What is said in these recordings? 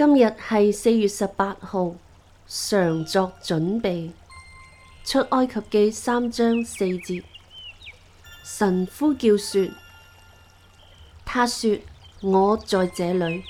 今日係4月18號，常作準備。出埃及記3章4節，神呼叫說：他說我在這裏。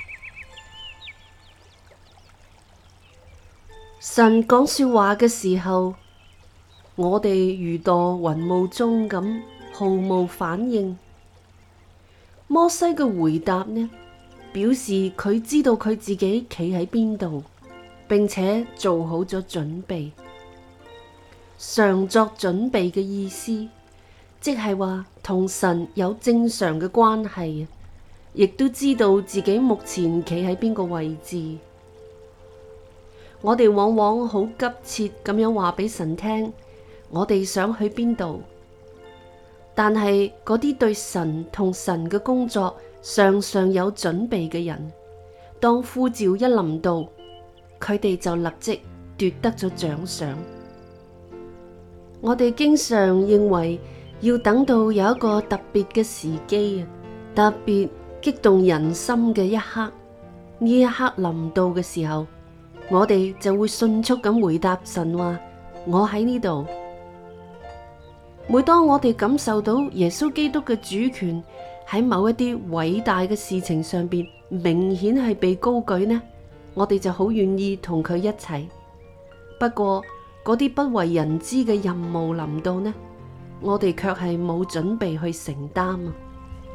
神講說話嘅時候，我哋如墮雲霧中咁，毫無反應。摩西嘅回答呢，表示佢知道佢自己企喺邊度，並且做好咗準備。常作準備嘅意思，即係話同神有正常嘅關係，亦都知道自己目前企喺邊個位置。我哋往往好急切咁樣話俾神聽，我哋想去邊度。但係嗰啲對神同神嘅工作常常有準備嘅人，當呼召一臨到，佢哋就立即奪得咗獎賞。我哋經常認為要等到有一個特別嘅時機，特別激動人心嘅一刻，呢一刻臨到嘅時候，我哋就會迅速咁回答神話：我喺呢度。每當我哋感受到耶穌基督嘅主權喺某一啲偉大嘅事情上邊明顯係被高舉呢，我哋就好願意同佢一齊。不過嗰啲不為人知嘅任務臨到呢，我哋卻係冇準備去承擔啊！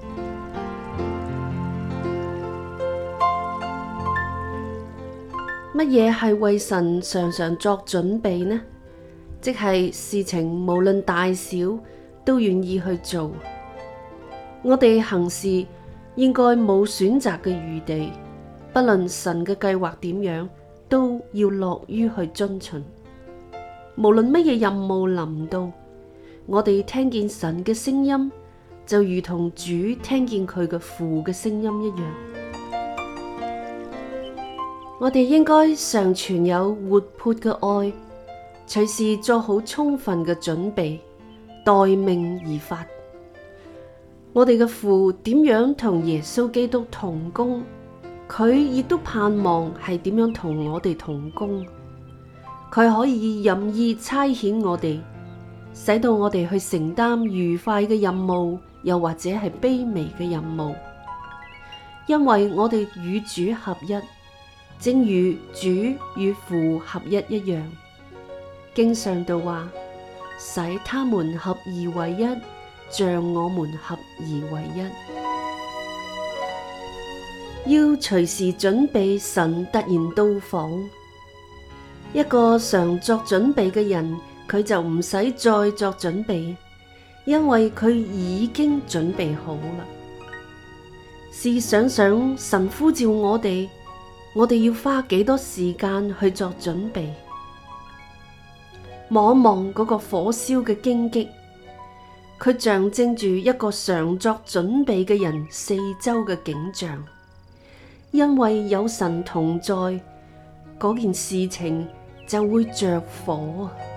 乜嘢係為神常常作準備呢？即係事情無論大小都願意去做。我哋行事應該冇選擇嘅餘地，不論神嘅計劃點樣，都要樂於去遵循。無論乜嘢任務臨到，我哋聽見神嘅聲音，就如同主聽見佢嘅父嘅聲音一樣。我哋應該常存有活潑嘅愛，隨時做好充分嘅準備，待命而發。我哋嘅父點樣同耶穌基督同工，佢亦都盼望係點樣同我哋同工。佢可以任意差遣我哋，使到我哋去承擔愉快嘅任務，又或者係卑微嘅任務，因為我哋與主合一，正如主與父合一一樣。經上道話，使他們合而為一，像我們合而為一。要隨時準備神突然到訪。一個常作準備嘅人，佢就唔使再作準備，因為佢已經準備好啦。試想想神呼召我哋要花幾多時間去作準備？望一望嗰個火燒嘅荊棘，佢象徵住一個常作準備嘅人四周嘅景象。因為有神同在，嗰件事情就會着火。